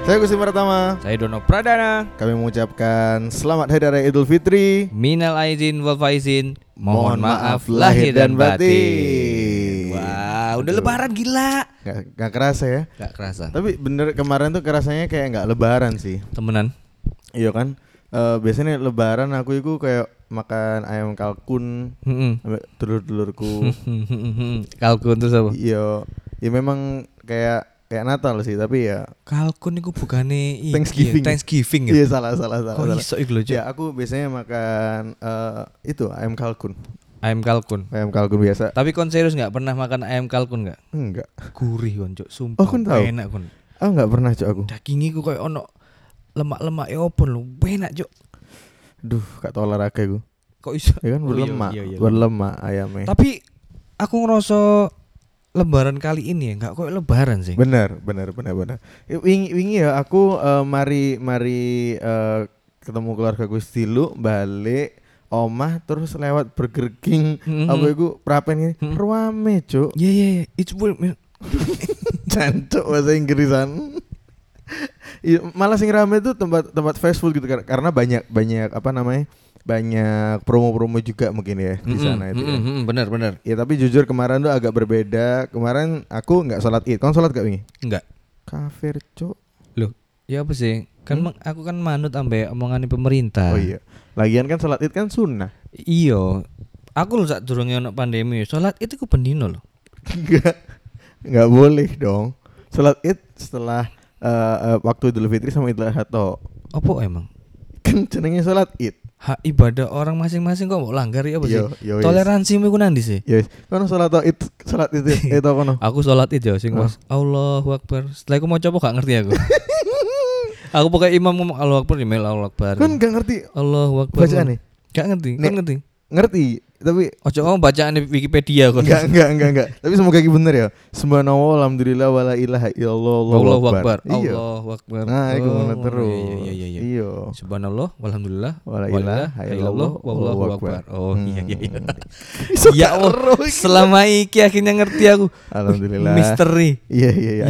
Saya Gusti Pratama. Saya Dono Pradana. Kami mengucapkan selamat Hari Raya Idul Fitri. Minal aizin wal faizin. Mohon maaf lahir dan batin. Wah, udah lebaran gila. Gak kerasa ya. Gak kerasa. Tapi bener kemarin tuh kerasanya kayak gak lebaran sih. Temenan. Iya kan. Biasanya lebaran aku itu kayak makan ayam kalkun sama dulur-dulurku. Kalkun terus apa? Iya. Ya memang kayak Natal sih, tapi ya kalkun itu bukannya Thanksgiving ya? Iya salah. Kok iso iku lho, ya aku biasanya makan itu ayam kalkun. Ayam kalkun Biasa. Tapi kon serius gak pernah makan ayam kalkun gak? Enggak. Gurih kon cuk, sumpah. Oh kon tahu? Enak kon. Oh enggak pernah cuk aku. Dagingnya ku kayak ono lemak-lemak ya opo lho, enak cuk. Duh, gak tau olahraga gue. Kok iso? Ya kan berlemak, Iya. berlemak ayamnya. Tapi aku ngerasa lebaran kali ini ya nggak kayak lebaran sih. Bener. Wingi ya aku mari ketemu keluarga gue stilu balik omah terus lewat Burger King apa iku prapen ini ruame cuk. Iya it's Cancuk bahasa Inggrisan. Malah sing rame itu tempat fast food gitu karena banyak apa namanya? Banyak promo-promo juga mungkin ya di sana itu. Bener. Ya tapi jujur kemarin tuh agak berbeda. Kemarin aku nggak sholat id. Kamu sholat gak wingi? Enggak. Kafir cuk. Loh, ya apa sih? Kan aku kan manut ambe omongan pemerintah. Oh iya. Lagian kan sholat id kan sunnah. Iya. Aku lho sak durunge ono pandemi, sholat id iku pendino lho. Enggak boleh dong. Sholat id setelah waktu Idul Fitri sama Idul Adha tok. Apa emang? Kan jenenge sholat id. Hak ibadah orang masing-masing kok mau langgar ya apa sih? Yo, toleransimu ku nandi sih? Yes. Kono sholat itu kono. Aku sholat id ya sing pas Allahu Akbar. Setelah aku mau coba gak ngerti aku. Aku pakai imam ngomong Allahu Akbar email Allahu Akbar. Kan gak ngerti Allahu Akbar. bacaane? Gak ngerti. Kan ngerti. Ngerti, tapi ojo ngomong bacaan di Wikipedia kok. Enggak. Tapi semoga iki bener ya. Subhanallah alhamdulillah wala ilaha illallah Allahu Akbar. Iya. Allahu Akbar. Nah, iku ngono terus. Iya. Iya. Subhanallah walhamdulillah wala ilaha illallah wallahu akbar. Oh iya. Ya Allah. Selama iki akhirnya ngerti aku. Alhamdulillah. Misteri. Iya.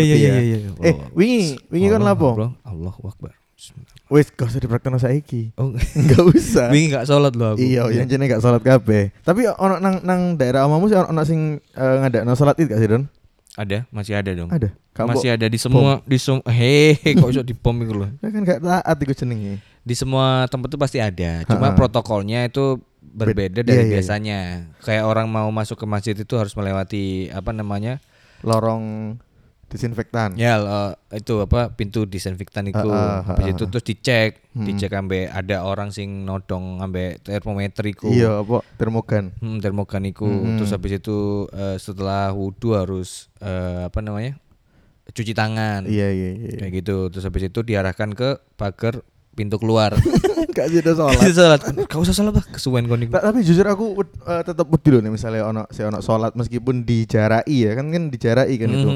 Iya. Wingi kan lapo? Allahu Akbar. Wis gak usah dipraktekno saiki. Oh, enggak usah. Wingi gak sholat lho aku. Iya, yang jenenge gak sholat kabeh. Tapi ono nang daerah omamu sih ono sing ngadakno sholat id gak sih, Don? Ada, masih ada dong. Ada. Masih ada di semua kok iso dibom iku lho. Ya kan gak taat iku jenenge. Di semua tempat tuh pasti ada. Cuma protokolnya itu berbeda dari biasanya. Kayak orang mau masuk ke masjid itu harus melewati apa namanya? Lorong disinfektan. Ya, itu apa pintu disinfektan itu. Habis itu terus dicek ambe ada orang sing nodong ambe termometer iku. Iya, apa termogan. Termogan iku. Terus habis itu setelah wudu harus apa namanya? Cuci tangan. Iya. Kayak gitu. Terus habis itu diarahkan ke pagar pintu keluar. Gak sih ada sholat. Gak usah sholat bah, kesuwen kon niku. Tapi jujur aku tetap wedi loh nih misalnya ono sholat meskipun dijarai ya kan dijarai kan itu.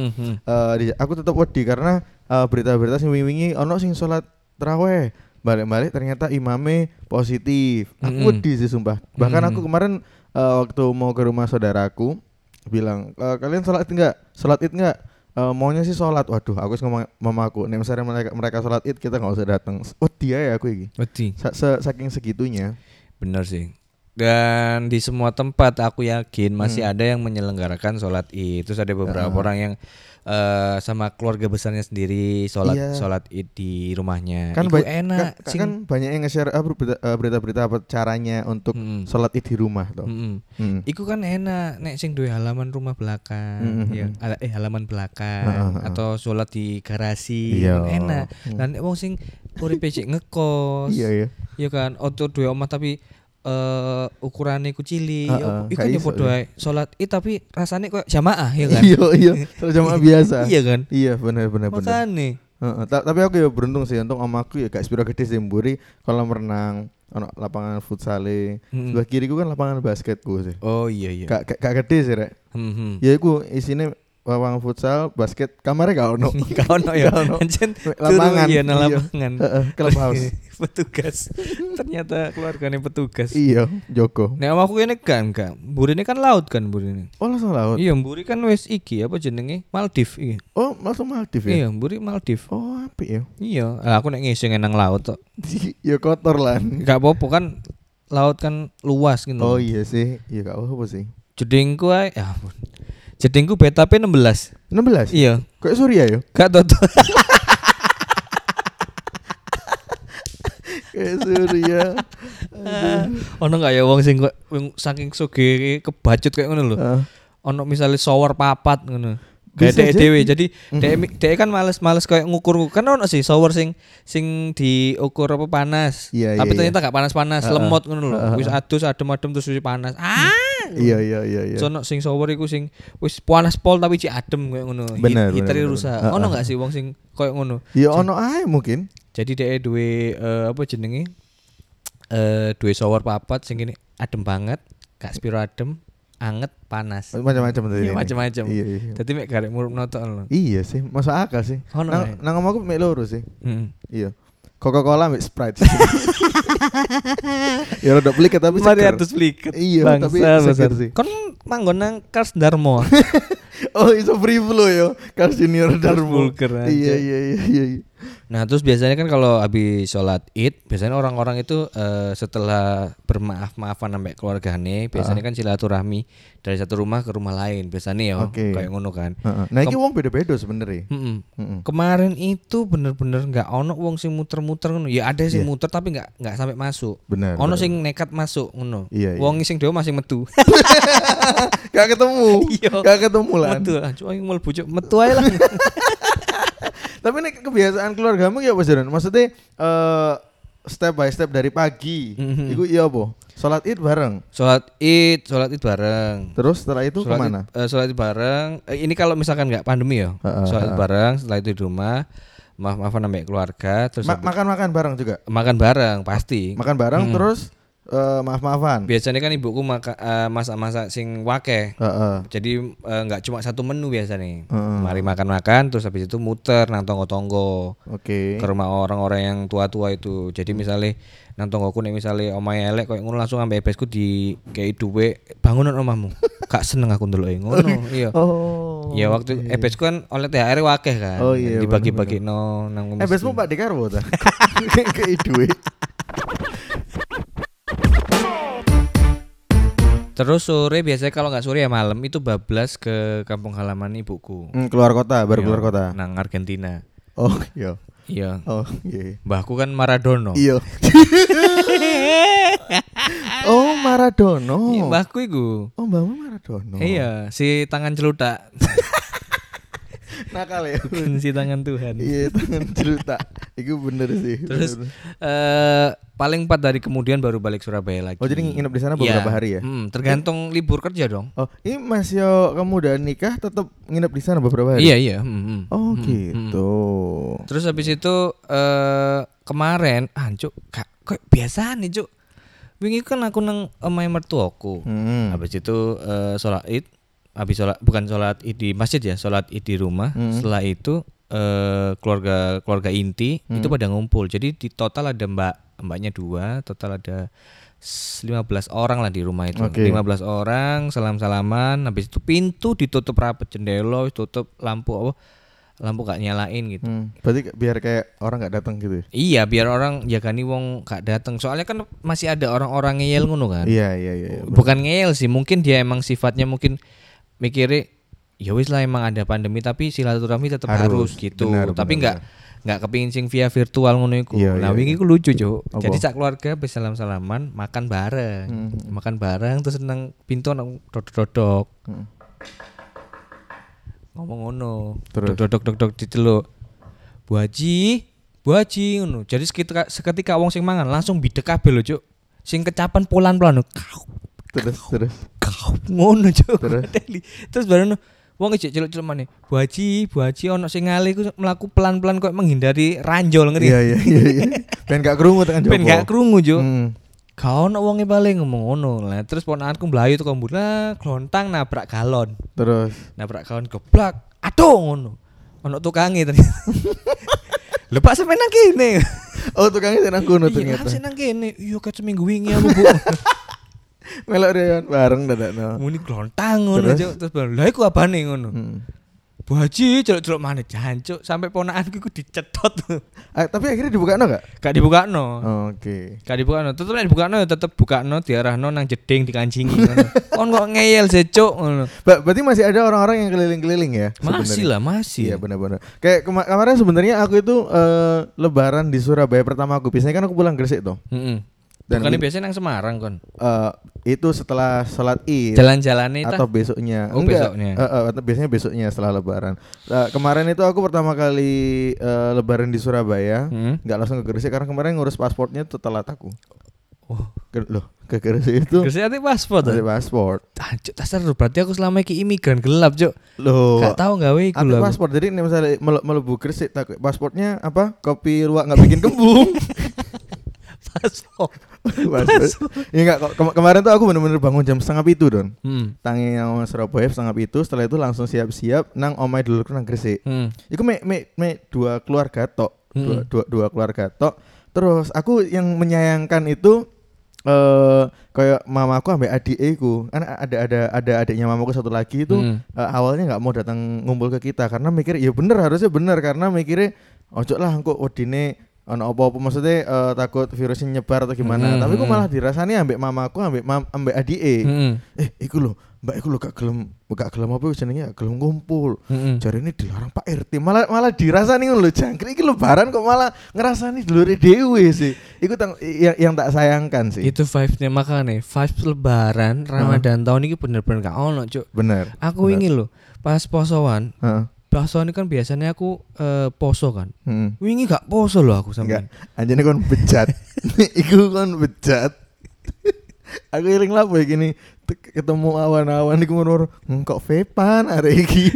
Aku tetap wedi karena berita-berita sing wingi ono sing sholat tarawih balik-balik ternyata imame positif. Aku wedi sih sumpah. Bahkan aku kemarin waktu mau ke rumah saudaraku bilang kalian sholat id enggak? Maunya sih sholat. Waduh, aku ngomong mamaku, nih misalnya mereka sholat id kita nggak usah datang. Dia ya aku ini. Saking segitunya. Bener sih. Dan di semua tempat aku yakin masih ada yang menyelenggarakan sholat id. Terus ada beberapa orang yang sama keluarga besarnya sendiri sholat id di rumahnya. Kan enak. Kan banyak yang nge-share berita-berita apa caranya untuk sholat id di rumah toh. Iku kan enak. Nek sing duwe halaman rumah belakang, halaman belakang atau sholat di garasi, enak. Dan nek wong sing uripe cek ngekos, iya kan, oto duwe omah tapi ukurannya ku cilik, iku yo podo ae sholat tapi rasanya kok jamaah ya kan? Iya, jamaah biasa. Iya kan? Iya benar. Makane. Tapi aku ya beruntung sih untuk omaku ya gak sepiro gede sih mburi kolam renang, ono lapangan futsale, sebelah kiriku kan lapangan basketku sih. Oh iya. Gak gede sih rek. Ya iku isine lapangan futsal, basket, kamarnya gak ono. Gak ono ya. Lapangan. Iya, lapangan. Clubhouse. Petugas. Ternyata keluarganya petugas. Iya, Joko. Nek omahku kene enggak. Mburine kan laut kan mburine. Oh, langsung laut. Iya, mburi kan wis iki apa jenenge? Maldives iki. Oh, langsung Maldives ya. Iya, mburi Maldives. Oh, apik ya. Iya, lah aku nek ngising nang laut tok. Ya kotor lah. Enggak apa-apa kan laut kan luas gitu. Oh iya sih. Iya gak apa-apa sih. Jedingku ae ya ampun. Jedingku BTP 16. 16? Iya. Kayak Surya ya? Gak toto. Kayak Surya. Ono gak ya wong sing saking sugih kebacut kayak ngono lho. Ono misalnya shower papat ngono. Gede dhewe. Jadi dhek kan males kayak ngukur. Kan ono sih shower sing diukur apa panas. Tapi ternyata gak panas-panas, lemot ngono lho. Wis adus adem-adem terus wis panas. Iya. Sono sing shower iku sing wis panas pol tapi cik adem kayak ngono. Heater rusak. Ono gak sih wong sing kayak ngono? Ya ono ae mungkin. Jadi dhek duwe apa jenenge? Duwe shower papat sing ngene adem banget, gak spiro adem. Anget panas macam-macam tadi. Iya macam-macam. Iya. Dadi mek garek murup notok lho. Iya sih, masuk akal sih. Nang omahku mek loro sih. Iya. Coca-Cola mek Sprite. Ya rada pliket tapi seger. Mari atus pliket. Iya, tapi seger sih. Kon manggon nang Kars Darmo. Oh, iso free flow yo. Kars Junior Darmo. Iya. Nah, terus biasanya kan kalau habis sholat Id, biasanya orang-orang itu setelah bermaaf-maafan sampai keluargane, biasanya kan silaturahmi dari satu rumah ke rumah lain, biasanya ya kayak ngono kan. Nah, iki wong beda-beda sebenarnya. Kemarin itu bener-bener enggak ono wong sing muter-muter ngono. Ya ada sing muter tapi enggak sampai masuk. Ono sing nekat masuk ngono. Wong sing dhewe masih metu. Gak ketemu. Gak ketemu lah. Metu lah, cuma mlebu metu ae lah. Tapi ini kebiasaan keluargamu ya apa Jaran? Maksudnya step by step dari pagi. Iku iya apa? Sholat Id bareng. Sholat Id bareng. Terus setelah itu kemana? Sholat Id bareng. Ini kalau misalkan nggak pandemi ya. Sholat Id bareng. Setelah itu di rumah. Maaf-maafan sampai keluarga. Terus makan bareng juga. Makan bareng pasti. Makan bareng terus. Maaf-maafan. Biasanya kan ibuku masak-masak sing wake. Jadi enggak cuma satu menu biasanya. Mari makan-makan terus habis itu muter nang tonggo-tonggo. Ke rumah orang-orang yang tua-tua itu. Jadi misalnya nang tonggoku nek misale omahe elek koyo ngono langsung ambek ebesku di kei duwe bangunan omahmu. Gak seneng aku ndeloke ngono. Iya. Ya waktu ebesku kan oleh THR wakeh kan. Dibagi-bagino nang ebesmu Pak Dekarwo ta. Kei duwe. Terus sore biasanya kalau nggak sore ya malam itu bablas ke kampung halaman ibuku. Keluar kota, baru keluar kota. Nang Argentina. Oh iya. Iya. Oh iya. Mbahku kan Maradona. Iya. Oh Maradona. Iya, mbahku iku. Oh mbahmu Maradona. Iya, si tangan celutak. Nakal ya. Bukan si tangan Tuhan. Iya tangan celutak. Iku bener sih. Terus paling 4 hari kemudian baru balik Surabaya lagi. Oh jadi nginep di sana beberapa hari ya? Tergantung libur kerja dong. Oh ini Mas Yo kamu udah nikah tetap nginep di sana beberapa hari? Iya. Oh gitu. Terus habis itu kemarin Cuk kok biasa nih Cuk. Wingi kan aku nang omahe mertuaku. Habis itu sholat Id. Habis sholat Id di masjid ya, sholat Id di rumah. Setelah itu keluarga inti itu pada ngumpul. Jadi di total ada mbaknya 2, total ada 15 orang lah di rumah itu. 15 orang salam-salaman, habis itu pintu ditutup rapet, jendela tutup, lampu gak nyalain gitu. Berarti biar kayak orang gak datang gitu. Iya, biar orang jagani wong gak datang. Soalnya kan masih ada orang-orang ngeyel ngono kan. Iya. Bukan ngeyel sih, mungkin dia emang sifatnya mungkin mikirnya ya wis lah emang ada pandemi tapi silaturahmi tetap harus gitu. Tapi enggak kepingin sing via virtual ngono iku. Nah wingi iku lucu, Cuk. Jadi sak keluarga bisa salam-salaman, makan bareng. Makan bareng terus nang pintu nang dodok-dodok. Ngomong ngono. Dodok-dodok diceluk. Bu Haji ngono. Jadi seketika wong sing mangan langsung bidek kabeh lho, Cuk. Sing kecapan pelan-pelan. Terus ngono Cuk. Terus baru wong ijek celuk-celuk maneh. Bu Haji ono sing ngale iku mlaku pelan-pelan kok menghindari ranjol ngeri. Iya. Ben gak krungu tekan jopo. Ben gak krungu Cuk. Kau ono wonge paling ngomong ngono. Lah terus ponakanku mlayu teko mbura, glontang nabrak galon. Terus nabrak galon geblak. Aduh ngono. Ono tukange ternyata. Lho Pak sampe nang kene. Oh, tukangnya nang kono ternyata. Iya, nang kene. Iya, ket seminggu wingi aku, Bu. Melok reon bareng dadakno. Muni glontang ngono, Cuk. Terus lha iku abane ngono. Bu Haji celuk-celuk maneh jancuk sampai ponakanku iku dicetot. Tapi akhirnya dibukakno gak? Gak dibukakno. Oke. Gak dibukakno. Tetep nek dibukakno ya tetep bukakno diarahno nang jeding dikancingi ngono. Kon kok ngeyel sih, Cuk ngono. Berarti masih ada orang-orang yang keliling-keliling ya? Masih lah, masih. Iya benar-benar. Kayak kemarin sebenarnya aku itu lebaran di Surabaya pertama aku. Biasanya kan aku pulang Gresik tuh. Dan bukannya biasanya nang Semarang kon? Itu setelah sholat Id. Jalan-jalan itu atau besoknya? Enggak. Besoknya. Biasanya besoknya setelah Lebaran. Kemarin itu aku pertama kali Lebaran di Surabaya, nggak langsung ke Gresik karena kemarin ngurus pasportnya tuh telat aku. Oh, ke Gresik itu. Gresik ada paspor. Ada paspor. Cuk, dasar berarti aku selama iki imigran gelap, Cuk. Loh. Gak tahu gawe iku lho. Ada paspor. Jadi misalnya melebu Gresik pasportnya apa? Kopi luwak enggak bikin kembung. Paspor. Ya enggak, kemarin tuh aku bener-bener bangun jam 6:30 Don. Tangi yang Surabaya 6:30, setelah itu langsung siap-siap nang omahe dulurku nang Gresik. Iku me dua keluarga tok. Dua keluarga tok. Terus aku yang menyayangkan itu kayak mamaku ambek adikku. Kan ada adiknya mamaku satu lagi itu awalnya enggak mau datang ngumpul ke kita karena mikir ya bener, harusnya bener karena mikirnya ojo lah engko wedine ono apa-apa maksudnya takut virusnya nyebar atau gimana. Tapi kok malah dirasani ambek mamaku ambek adike. Iku lho, mbak iku lho gak gelem apa jenenge, gak gelem ngumpul. Jarine dilarang Pak RT. Malah dirasani ngono lho, jangkrik iki lebaran kok malah ngerasani dulure dhewe sih. Iku yang tak sayangkan sih. Itu vibes-nya makane, vibes lebaran Ramadan tahun ini bener-bener gak ono, Cuk. Bener. Aku ingin lho pas posoan. Poso ini kan biasanya aku poso kan. Wingi gak poso loh aku sampean. Anjene kon bejat. Iku kon bejat. Aku eling lapo iki ketemu awan-awan iku ngono kok vepan arek iki.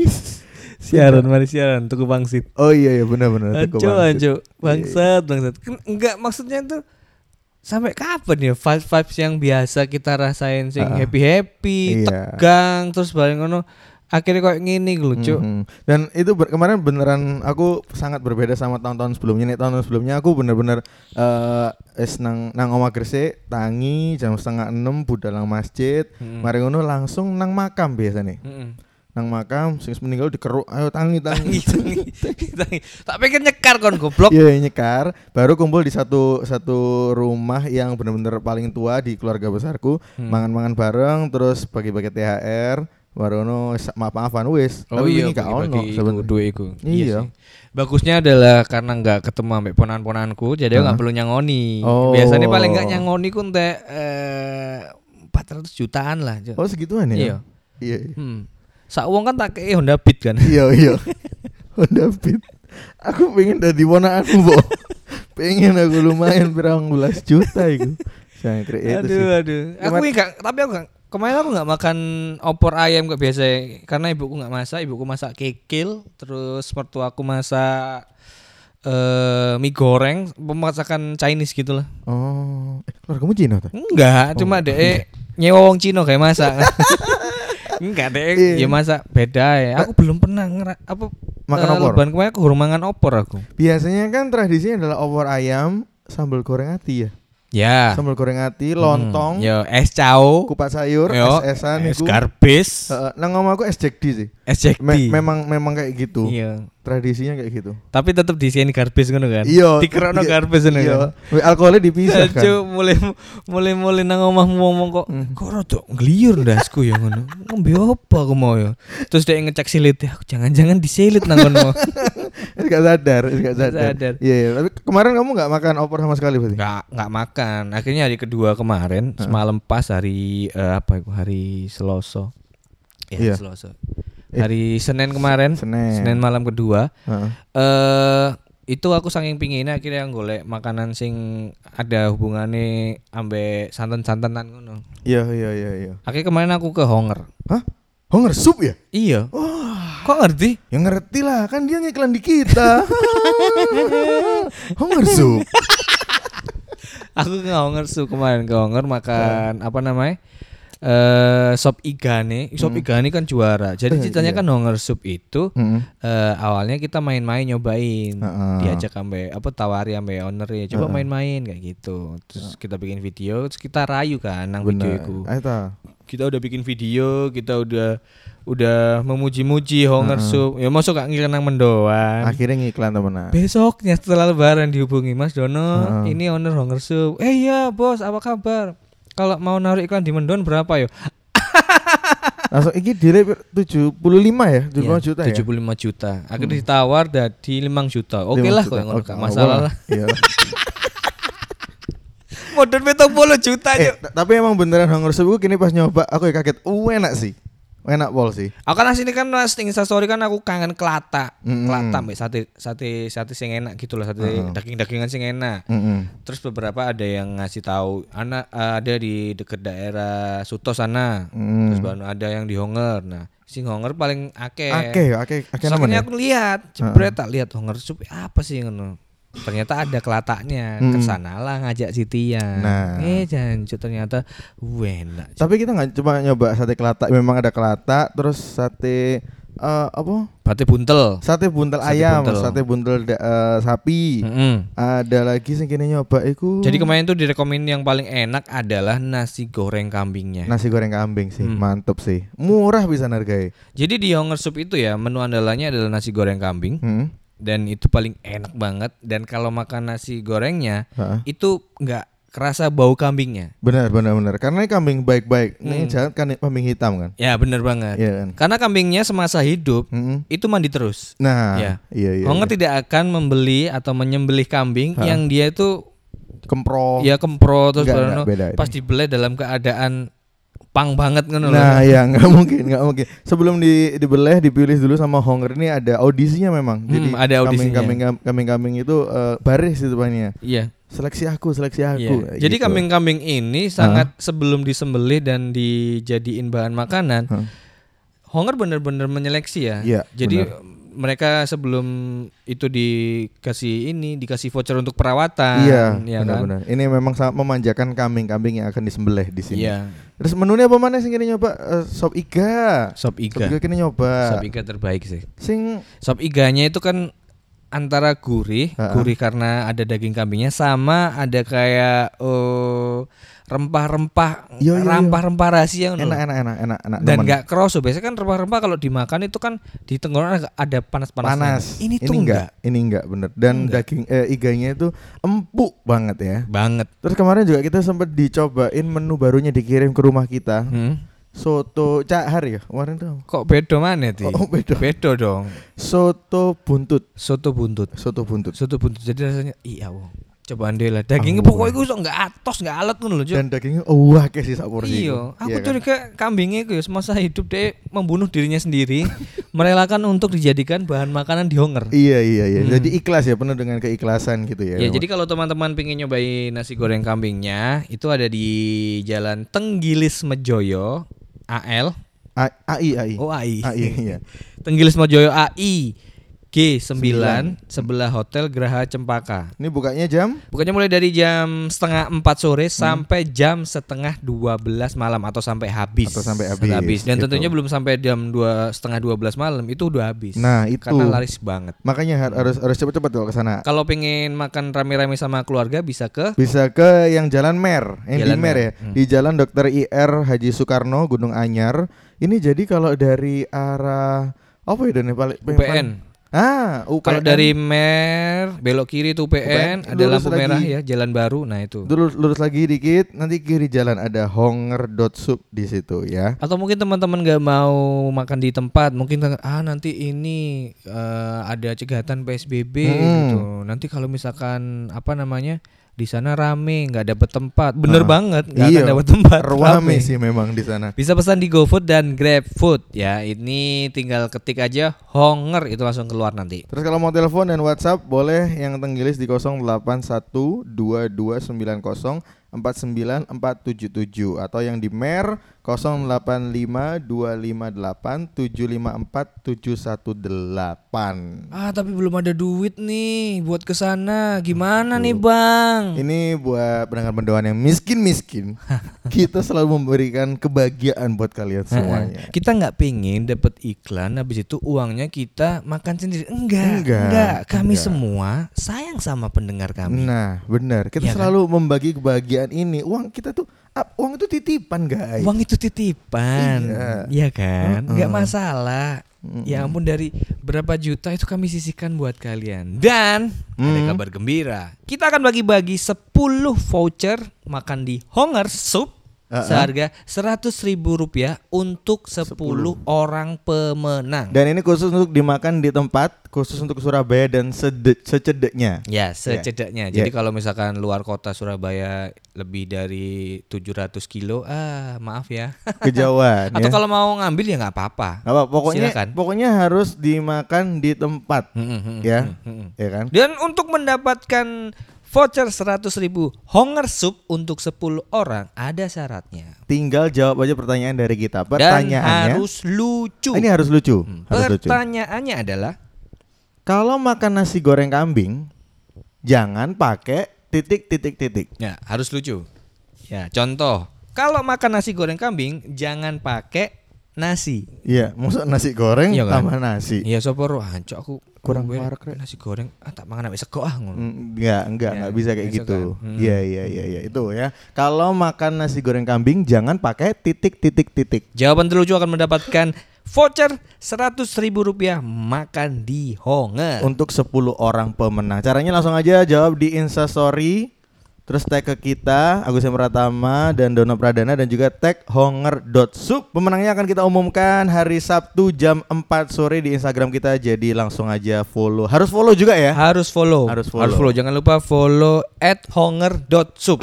Siaran tuku bangsit. Oh iya benar tuku bangsit. Anjo bangsat. Enggak, maksudnya tuh sampai kapan ya vibes yang biasa kita rasain sing happy, tegang terus balik ngono. Akhirnya kayak gini lucu. Dan itu kemarin beneran aku sangat berbeda sama tahun-tahun sebelumnya. Tahun sebelumnya aku bener-bener nang omah Gresik tangi jam 5:30 budal nang masjid. Mari ngono langsung nang makam biasanya. Nang makam sing meninggal dikeruk, ayo tangi. Tak pikir nyekar kon goblok. Iya nyekar, baru kumpul di satu rumah yang bener-bener paling tua di keluarga besarku, mangan-mangan bareng terus bagi-bagi THR. Warono maaf-maafan wis. Tapi ini gak ono sebenarnya iku. Iya. Bagusnya adalah karena enggak ketemu ambek ponan-ponanku, jadi enggak perlu nyangoni. Biasanya paling enggak nyangoni ku entek 400 jutaan lah. Oh segituan ya? Iya. Sak wong kan tak kei Honda Beat kan. Iya. Honda Beat. Aku pengen dadi ponakanmu, Bo. Pengen aku lumayan 12 juta iku. Aduh. Aku kemarin aku nggak makan opor ayam kayak biasa karena ibuku nggak masak, ibuku masak kikil, terus mertuaku masak mie goreng, pemasakan Chinese gitulah. Oh, keluargamu Cina tuh? Enggak, cuma deh nyewa wong Cina kayak masak. Enggak deh, ya masak beda ya. Aku belum pernah makan opor. Lebaran kemarin aku belum makan opor aku. Biasanya kan tradisinya adalah opor ayam, sambal goreng ati ya. Ya. Sambal goreng ati, lontong, yo es cao, kupat sayur, es-esan iku. Es garbis. Nang omahku es Jack D sih. Es Jack D. Memang kayak gitu. Iya. Tradisinya kayak gitu. Tapi tetap disini garbis ngono kan. Iya. Dikerokno garbis ngono kan. Alkoholnya dipisah kan. mulai nang omahmu ngomong kok rada ngliyur ndasku ya ngono. Ngombe apa aku mau ya. Terus dia ngecek silit, aku jangan-jangan disilit nang ngono. Enggak sadar. Iya. Tapi kemarin kamu enggak makan opor sama sekali berarti? Enggak makan. Akhirnya hari kedua kemarin, semalam pas hari hari Selasa. Ya, Selasa. Hari Senin kemarin, Senin malam kedua. Itu aku saking pinginnya akhirnya golek makanan sing ada hubungannya ambek santan-santanan ngono. Iya. Akhirnya kemarin aku ke Honger. Hah? Honger sup ya? Iya. Wah, kok ngerti? Ya ngerti lah, kan dia ngiklan di kita. Honger sup. Aku ke Honger sup kemarin, ke Honger makan apa namanya? Sop Igane kan juara. Jadi ceritanya kan Honger Soup itu awalnya kita main-main nyobain, diajak sampai tawari sampai owner ya, coba main-main kayak gitu. Terus kita bikin video, terus kita rayu kan nang video itu. Kita udah bikin video, kita udah memuji-muji Honger Soup. Ya masuk gak ngirim nang mendoan. Akhirnya ngiklan temenan. Besoknya setelah lebaran dihubungi, Mas Dono, ini owner Honger Soup. Iya bos, apa kabar? Kalau mau naruh iklan di Mendon berapa yo? Langsung iki dire 75 ya, 75 juta ya. 75 juta. Akhirnya ditawar dari 5 juta. Oke lah kok ngono gak masalah lah. Iya. Modern 70 juta yo. Tapi emang beneran Honger Soup kini pas nyoba aku ya kaget. Enak sih. Enak pol sih. Aku kan sini kan Insta story kan aku kangen kelata. Kelata mbak sate sing enak gitu loh, sate daging-dagingan sing enak. Terus beberapa ada yang ngasih tahu ada di dekat daerah Suto sana. Terus baru ada yang di Honger. Nah, sing Honger paling akeh. Soalnya aku lihat, jebret tak lihat Honger Soup apa sih ngono. Ternyata ada kelataknya, kesanalah ngajak si Tia. Jancu ternyata enak. Tapi kita nggak cuma nyoba sate kelatak, memang ada kelatak, terus sate Sate buntel ayam, sate buntel sapi. Ada lagi sing kene nyoba iku. Jadi kemarin tuh direkomend yang paling enak adalah nasi goreng kambingnya. Nasi goreng kambing sih, mantep sih. Murah bisa harganya. Jadi di Honger Soup itu ya menu andalannya adalah nasi goreng kambing. Dan itu paling enak banget. Dan kalau makan nasi gorengnya itu nggak kerasa bau kambingnya. Benar. Karena ini kambing baik-baik. Ini jangan kan kambing hitam kan. Ya benar banget. Ya, kan? Karena kambingnya semasa hidup itu mandi terus. Nah, iya. Honger tidak akan membeli atau menyembelih kambing yang dia itu kempro. Ya kempro terus enggak, pas dibeleh dalam keadaan pang banget kan. Nah ya nggak mungkin. Sebelum dibeleh dipilih dulu sama Honger ini ada audisinya memang. Jadi ada audisinya. Kambing itu baris itu banyak. Iya. Seleksi aku. Iya. Jadi gitu. Kambing-kambing ini sangat sebelum disembelih dan dijadiin bahan makanan, Honger benar-benar menyeleksi ya. Iya, jadi mereka sebelum itu dikasih voucher untuk perawatan. Iya, benar. Ini memang sangat memanjakan kambing-kambing yang akan disembelih di sini. Iya. Terus menunya apa mana sing kini nyoba? Sop iga kini nyoba. Sop iga terbaik sih. Sop iganya itu kan antara gurih karena ada daging kambingnya sama ada kayak rempah-rempah rahasia enak dan nggak kerasa. Biasanya kan rempah-rempah kalau dimakan itu kan di tenggorokan ada panas-panasnya. Ini enggak bener. Dan daging iganya itu empuk banget ya. Banget. Terus kemarin juga kita sempat dicobain menu barunya dikirim ke rumah kita. Soto Cahar ya kemarin tuh. Kok beda mana sih? Beda dong. Soto buntut. Jadi rasanya coba andel lah. Dagingnya pokoknya gue sok nggak atos nggak alat ngono loh. Dan dagingnya kayak si sak porsi. Iya, aku curiga kambingnya itu ya semasa hidup dia membunuh dirinya sendiri, merelakan untuk dijadikan bahan makanan di Honger. Iya. Jadi ikhlas ya, penuh dengan keikhlasan gitu ya. Ya, jadi kalau teman-teman pengen nyobain nasi goreng kambingnya, itu ada di Jalan Tenggilis Mejoyo, AI. Oh, AI. Iya. Tenggilis Mejoyo AI. G9 sebelah Hotel Graha Cempaka. Ini bukanya mulai dari jam 3:30 sore sampai jam 11:30 malam atau sampai habis. Dan gitu. Tentunya belum sampai jam 11:30 malam itu udah habis. Nah, itu karena laris banget. Makanya harus cepat-cepat kalau ke sana. Kalau pengen makan rame-rame sama keluarga bisa ke yang Jalan Mer, di Mer ya. Di Jalan Dr. IR Haji Soekarno Gunung Anyar. Ini jadi kalau dari arah apa ya UPN. Kalau dari Mer belok kiri itu UPN, ada lampu merah ya, Jalan Baru. Nah itu. Lurus lagi dikit, nanti kiri jalan ada Honger.soup di situ ya. Atau mungkin teman-teman nggak mau makan di tempat, mungkin nanti ini ada cegatan PSBB gitu. Nanti kalau misalkan di sana rame, nggak dapet tempat. Bener banget, nggak akan dapet tempat. Rame sih memang di sana. Bisa pesan di GoFood dan GrabFood ya. Ini tinggal ketik aja Honger itu langsung keluar nanti. Terus kalau mau telepon dan WhatsApp boleh yang Tenggilis di 0812290 49477 atau yang di Mer 085258754718. Tapi belum ada duit nih buat kesana. Gimana nih Bang? Ini buat pendengar mendoan yang miskin-miskin. Kita selalu memberikan kebahagiaan buat kalian semuanya. Kita nggak pengen dapat iklan, habis itu uangnya kita makan sendiri. Enggak. Kami semua sayang sama pendengar kami. Nah, benar. Kita selalu membagi kebahagiaan ini. Uang kita tuh, uang itu titipan, guys. Uang itu titipan. Iya kan? Enggak masalah. Ya ampun, dari berapa juta itu kami sisihkan buat kalian. Dan ada kabar gembira. Kita akan bagi-bagi 10 voucher makan di Honger Soup seharga Rp100.000 untuk 10 orang pemenang. Dan ini khusus untuk dimakan di tempat, khusus untuk Surabaya dan secedeknya. Ya, secedeknya. Jadi kalau misalkan luar kota Surabaya lebih dari 700 kilo, maaf ya. Kejauhan. Atau kalau mau ngambil ya nggak apa-apa. Pokoknya harus dimakan di tempat, ya kan. Dan untuk mendapatkan voucher 100.000 Honger Soup untuk 10 orang ada syaratnya. Tinggal jawab aja pertanyaan dari kita. Pertanyaannya harus lucu. Ini harus lucu. Pertanyaannya adalah, kalau makan nasi goreng kambing jangan pakai titik. Ya, harus lucu. Ya, contoh, kalau makan nasi goreng kambing jangan pakai nasi. Iya, maksud nasi goreng tambah nasi. Iya, sopor hancur aku kurang parek nasi goreng tak mangan ambek sego ngono. Enggak bisa kayak gitu. Iya itu ya. Kalau makan nasi goreng kambing jangan pakai titik. Jawaban terlucu akan mendapatkan voucher Rp100.000 makan di Honger untuk 10 orang pemenang. Caranya langsung aja jawab di Instastory, terus tag ke kita Agus M. Pratama dan Dono Pradana, dan juga tag honger.soup. Pemenangnya akan kita umumkan hari Sabtu jam 4 sore di Instagram kita. Jadi langsung aja follow. Harus follow juga ya? Harus follow. Jangan lupa follow @honger.soup.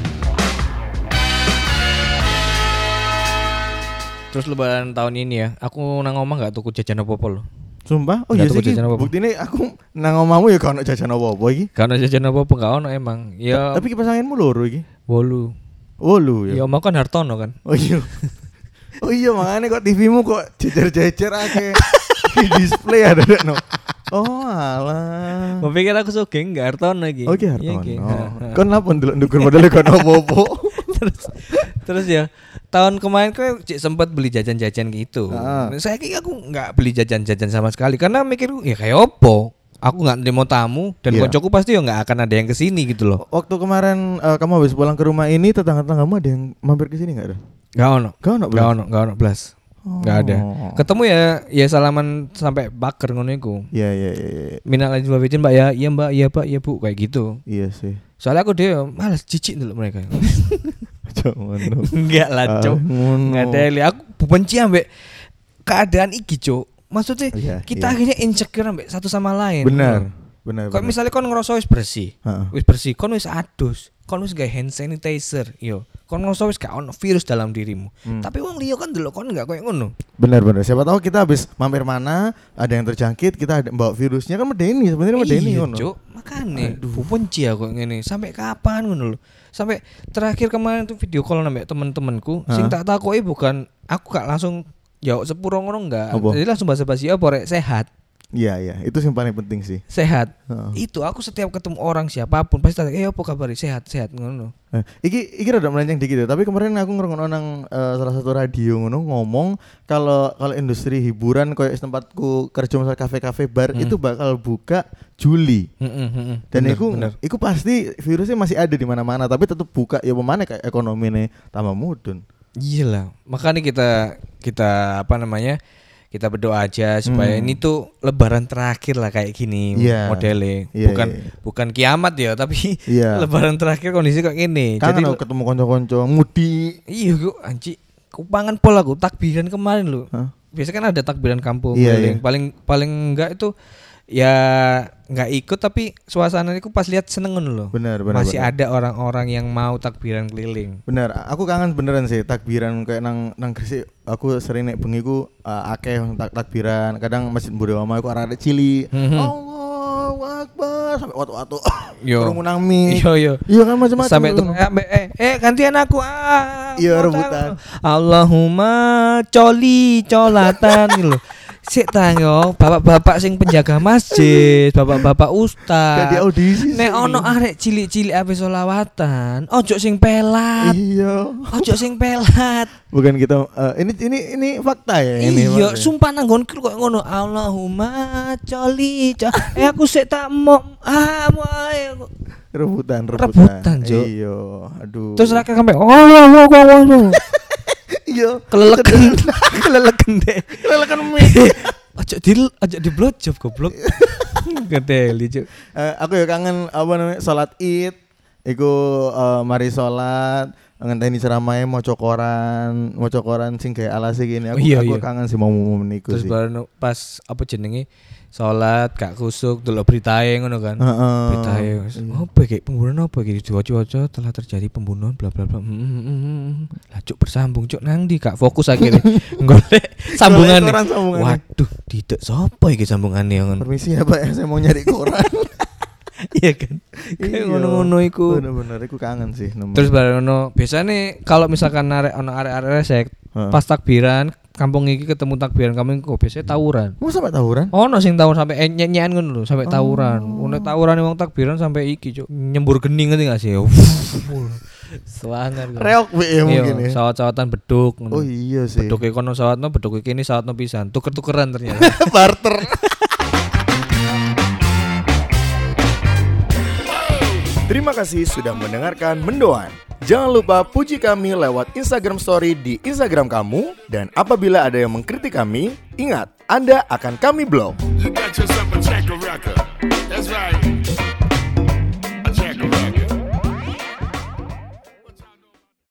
Terus lebaran tahun ini ya, aku nang omah gak tuku jajan apa-apa loh. Sumpah? Oh iya sih, bukti ini aku nang omamu ya gak ono jajan apa-apa iki. Gak ono jajan apa-apa, gak ono emang. Ya. Tapi kipas anginmu loro iki. 8 ya. Ya omah kan Hartono kan. Oh iya makanya kok TVmu kok jejer-jejer akeh. Di display ada no. Oh alah. Mau pikir aku sugeng gak Hartono iki. Oh iki Hartono. Kon lapon ndelok modele kon opo-opo. Terus ya tahun kemarin kok sempat beli jajan-jajan gitu. Saya kira aku nggak beli jajan-jajan sama sekali karena mikir ya kayak opo. Aku nggak demo tamu dan koncoku pasti ya nggak akan ada yang kesini gitu loh. Waktu kemarin kamu habis pulang ke rumah ini, tetangga-tetanggamu ada yang mampir kesini nggak ada? Gak ono blas. Nggak ada. Ketemu ya salaman sampai baker ngono iku. Iya. Minal aidin wal faizin Mbak ya. Iya Mbak, iya Pak, iya Bu, kayak gitu. Iya sih. Soalnya aku dia malas jijik dulu mereka. Enggak lah, Cok. Enggak ada. Aku benci ambek keadaan iki, Cok. Maksudnya kita akhirnya insecure ambek satu sama lain. Benar. Kok misalnya kon ngerasa wis bersih. Wis bersih, kon wis adus. Kon wis gawe hand sanitizer, yo. Kon ngerasa wis gak ono virus dalam dirimu. Tapi wong liya kan delok kon enggak koyo ngono. Benar. Siapa tahu kita habis mampir mana, ada yang terjangkit, kita ada bawa virusnya kan medeni sebenarnya medeni ngono. Iya, Cuk. Makane benci aku ngene. Sampai kapan ngono lho. Sampai terakhir kemarin tuh video call nambah temen-temenku, sing tak takoki bukan aku gak langsung jawab sepuro ngono enggak. Jadi langsung basa-basi apa rek sehat. Iya, itu yang paling penting sih. Sehat. Itu aku setiap ketemu orang siapapun pasti tanya, apa kabar? Sehat ngono. Iki rada melenceng dikit ya, tapi kemarin aku ngrungokno nang salah satu radio ngono ngomong kalau industri hiburan kayak tempatku kerja misal kafe-kafe bar itu bakal buka Juli. Dan iku pasti virusnya masih ada di mana-mana, tapi tetap buka ya pemane kayak ekonomine tambah mudun. Iyalah, makanya kita apa namanya? Kita berdoa aja supaya ini tuh lebaran terakhir lah kayak gini modelnya. Bukan kiamat ya, tapi lebaran terakhir kondisi kayak gini. Jadi ketemu konco-konco mudi. Iya kok anci. Kupangan pol aku takbiran kemarin loh. Biasanya kan ada takbiran kampung. Paling enggak itu ya nggak ikut, tapi suasana itu pas lihat seneng loh. Benar. Masih ada orang-orang yang mau takbiran keliling. Benar, aku kangen beneran sih takbiran kayak nang Gresik. Aku sering naik bengiku akeh takbiran. Kadang Masjid Budawa aku arah ada cili. Allahu Akbar sampai watu-watu. kerumunan mie. Iya kan macam-macam. Sampai tuh gantian aku Iya rebutan. Allahumma colatan gitu loh. Sik ta yo, bapak-bapak sing penjaga masjid, bapak-bapak ustaz. Jadi audisi. Nek ono arek cilik-cilik ape selawatan, ojo sing pelat. Iya. Ojo sing pelat. Bukan kita ini fakta ya ini. Iya, sumpah nang nggonku kok ngono. Allahumma coli. Aku sik tak mau rebutan, Cuk. Iya, aduh. Terus rakyat sampai iya, keleleken mie. Ojo di blowjob goblok. Gedeli, Cuk. Aku ya kangen apa namanya salat Id. Iku mari salat ngenteni ceramahe maca koran sing gawe alase gini. Aku kangen sih momen iku sih. Terus pas apa jenenge salat gak kusuk delok beritae ngono kan. Beritae apa iki pembunuhan apa iki diwaca-waca telah terjadi pembunuhan bla bla bla. Lah Cuk bersambung Cuk nang ndi gak fokus akhirnya golek sambungan. Waduh, tidak sapa iki sambungane ngono. Permisi ya Pak, saya mau nyari koran. Iya kan. Kayak ngono-ngono iku. Bener-bener iku kangen sih. Terus bareng ono biasane kalau misalkan arek-arek resek pas takbiran kampung iki ketemu takbiran kampung kok biasanya tawuran. Mau sampai tawuran? Ono sing tawuran sampai nyanyian ngono lho, sampai tawuran. Ono tawuran wong takbiran sampai iki, Cuk. Nyembur gening ngerti gak sih? Sewangan. Reok wae mungkin ya. Sawat-sawatan beduk ngono. Oh iya sih. Beduk e kono sawatno, beduk iki sawatno pisan. Tuker-tukeran ternyata. Barter. Terima kasih sudah mendengarkan Mendoan. Jangan lupa puji kami lewat Instagram Story di Instagram kamu. Dan apabila ada yang mengkritik kami, ingat, Anda akan kami blok. You got yourself a checker record. That's right.